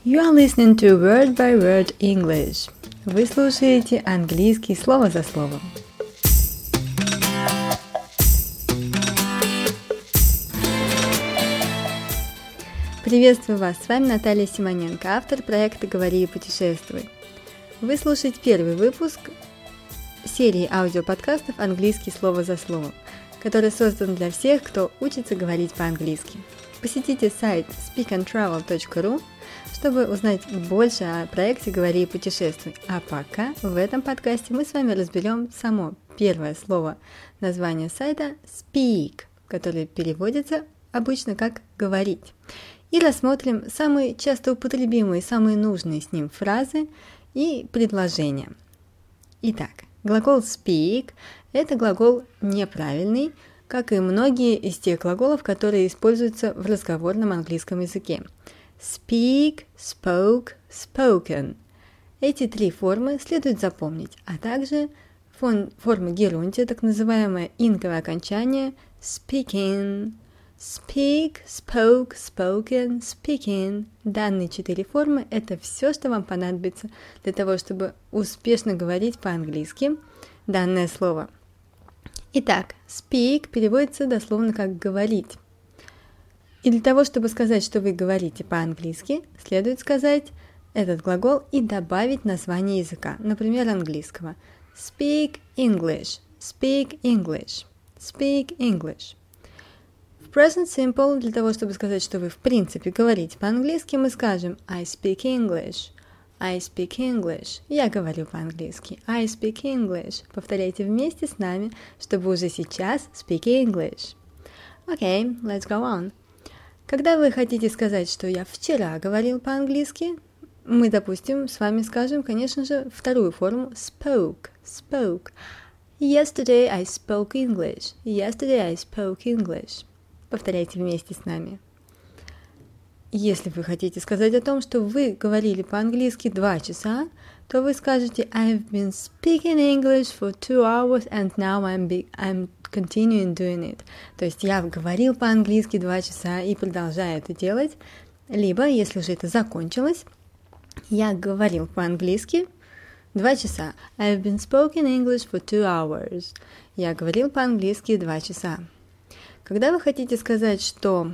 You are listening to Word by Word English. Вы слушаете английский слово за словом. Приветствую вас, с вами Наталья Симоненко, автор проекта «Говори и путешествуй». Вы слушаете первый выпуск серии аудиоподкастов «Английский слово за словом», который создан для всех, кто учится говорить по-английски. Посетите сайт speakandtravel.ru, чтобы узнать больше о проекте «Говори и путешествуй». А пока в этом подкасте мы с вами разберем само первое слово названия сайта «speak», которое переводится обычно как «говорить». И рассмотрим самые часто употребимые, самые нужные с ним фразы и предложения. Итак, глагол speak – это глагол неправильный, как и многие из тех глаголов, которые используются в разговорном английском языке. Speak, spoke, spoken. Эти три формы следует запомнить, а также форма герундия, так называемое инковое окончание speaking. Speak, spoke, spoken, speaking. Данные четыре формы – это все, что вам понадобится для того, чтобы успешно говорить по-английски данное слово. Итак, speak переводится дословно как «говорить». И для того, чтобы сказать, что вы говорите по-английски, следует сказать этот глагол и добавить название языка, например, английского. Speak English, speak English, speak English. В present simple, для того, чтобы сказать, что вы в принципе говорите по-английски, мы скажем I speak English, I speak English. Я говорю по-английски. I speak English. Повторяйте вместе с нами, чтобы уже сейчас speak English. Okay, let's go on. Когда вы хотите сказать, что я вчера говорил по-английски, мы, допустим, с вами скажем, конечно же, вторую форму spoke, spoke. Yesterday I spoke English. Yesterday I spoke English. Повторяйте вместе с нами. Если вы хотите сказать о том, что вы говорили по-английски 2 часа, то вы скажете I've been speaking English for 2 hours and now I'm continuing doing it. То есть я говорил по-английски 2 часа и продолжаю это делать. Либо, если уже это закончилось, я говорил по-английски 2 часа. I've been speaking English for 2 hours. Я говорил по-английски 2 часа. Когда вы хотите сказать, что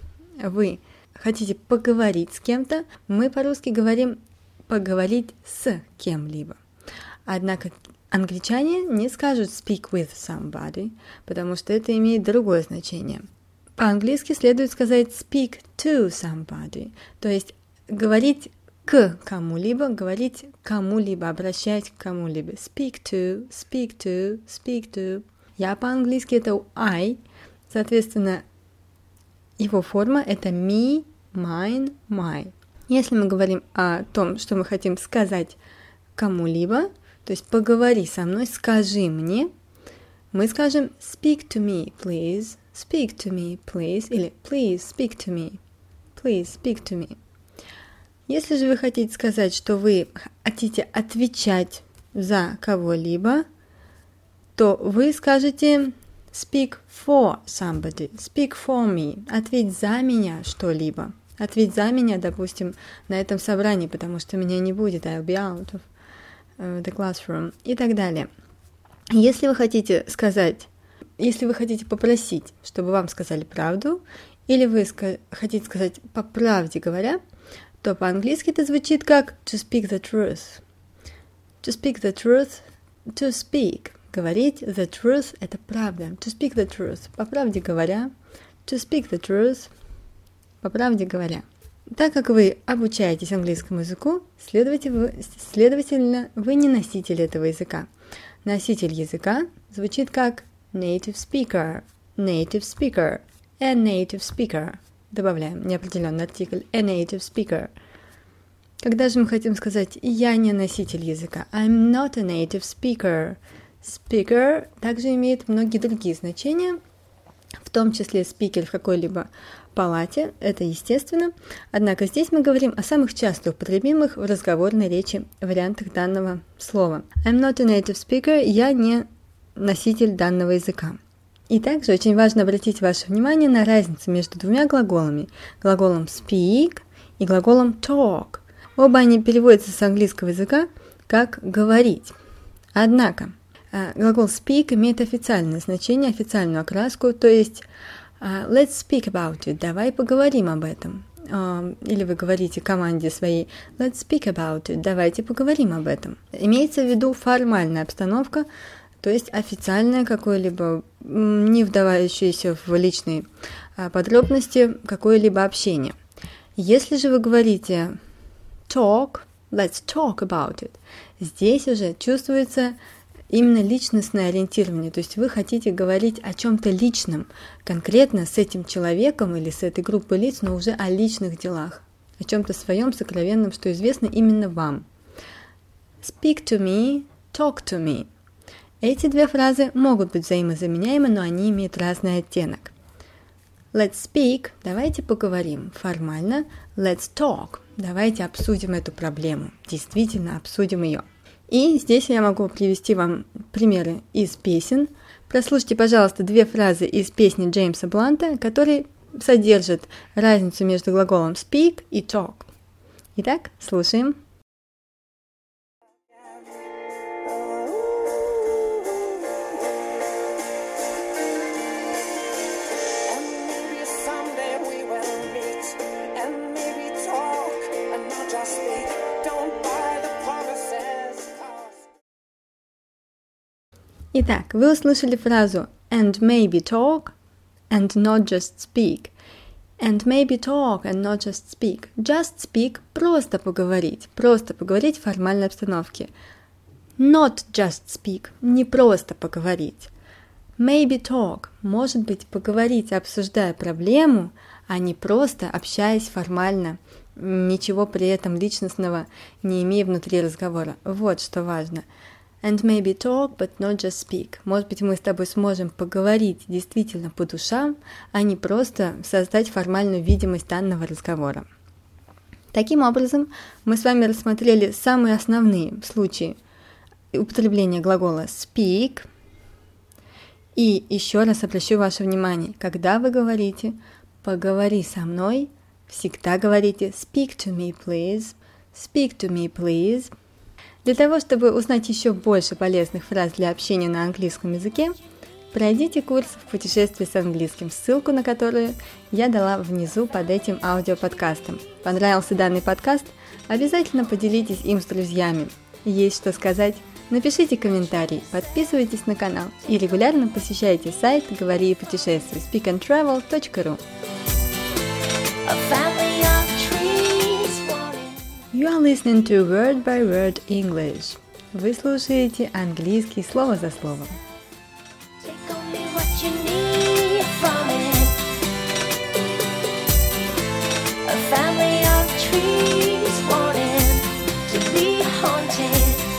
вы хотите поговорить с кем-то, мы по-русски говорим «поговорить с кем-либо». Однако англичане не скажут «speak with somebody», потому что это имеет другое значение. По-английски следует сказать «speak to somebody», то есть говорить к кому-либо, говорить кому-либо, обращать к кому-либо. Speak to, speak to, speak to. Я по-английски это I, соответственно, его форма это me, mine, my. Если мы говорим о том, что мы хотим сказать кому-либо, то есть поговори со мной, скажи мне, мы скажем speak to me, please, speak to me, please, или please speak to me, please speak to me. Если же вы хотите сказать, что вы хотите отвечать за кого-либо, то вы скажете speak for somebody, speak for me, ответь за меня что-либо. Ответь за меня, допустим, на этом собрании, потому что меня не будет, I'll be out of the classroom и так далее. Если вы хотите сказать, если вы хотите попросить, чтобы вам сказали правду, или вы хотите сказать по правде говоря, то по-английски это звучит как to speak the truth. To speak the truth, to speak. Говорить the truth – это правда. To speak the truth – по правде говоря. To speak the truth – по правде говоря. Так как вы обучаетесь английскому языку, следовательно, вы не носитель этого языка. Носитель языка звучит как native speaker, native speaker, a native speaker. Добавляем неопределенный артикль a native speaker. Когда же мы хотим сказать «я не носитель языка», I'm not a native speaker. Speaker также имеет многие другие значения, в том числе speaker в какой-либо палате, это естественно. Однако здесь мы говорим о самых часто употребимых в разговорной речи вариантах данного слова. I'm not a native speaker, я не носитель данного языка. И также очень важно обратить ваше внимание на разницу между двумя глаголами. Глаголом speak и глаголом talk. Оба они переводятся с английского языка как «говорить». Однако глагол speak имеет официальное значение, официальную окраску, то есть let's speak about it, давай поговорим об этом. Или вы говорите команде своей let's speak about it, давайте поговорим об этом. Имеется в виду формальная обстановка, то есть официальное какое-либо, не вдавающееся в личные подробности, какое-либо общение. Если же вы говорите talk, let's talk about it, здесь уже чувствуется именно личностное ориентирование, то есть вы хотите говорить о чем-то личном, конкретно с этим человеком или с этой группой лиц, но уже о личных делах, о чем-то своем сокровенном, что известно именно вам. Speak to me, talk to me. Эти две фразы могут быть взаимозаменяемы, но они имеют разный оттенок. Let's speak, давайте поговорим. Формально let's talk, давайте обсудим эту проблему, действительно обсудим ее. И здесь я могу привести вам примеры из песен. Прослушайте, пожалуйста, две фразы из песни Джеймса Бланта, которые содержат разницу между глаголом speak и talk. Итак, слушаем. Итак, вы услышали фразу and maybe talk and not just speak. And maybe talk and not just speak. Just speak – просто поговорить в формальной обстановке. Not just speak – не просто поговорить. Maybe talk – может быть поговорить, обсуждая проблему, а не просто общаясь формально, ничего при этом личностного не имея внутри разговора. Вот что важно. And maybe talk, but not just speak. Может быть, мы с тобой сможем поговорить действительно по душам, а не просто создать формальную видимость данного разговора. Таким образом, мы с вами рассмотрели самые основные случаи употребления глагола speak. И еще раз обращу ваше внимание, когда вы говорите «поговори со мной», всегда говорите speak to me, please, speak to me, please. Для того, чтобы узнать еще больше полезных фраз для общения на английском языке, пройдите курс в путешествии с английским, ссылку на которую я дала внизу под этим аудиоподкастом. Понравился данный подкаст? Обязательно поделитесь им с друзьями. Есть что сказать? Напишите комментарий, подписывайтесь на канал и регулярно посещайте сайт «Говори и путешествуй» speakandtravel.ru. You are listening to Word by Word English. Вы слушаете английский слово за словом. A family of trees wanting to be haunted.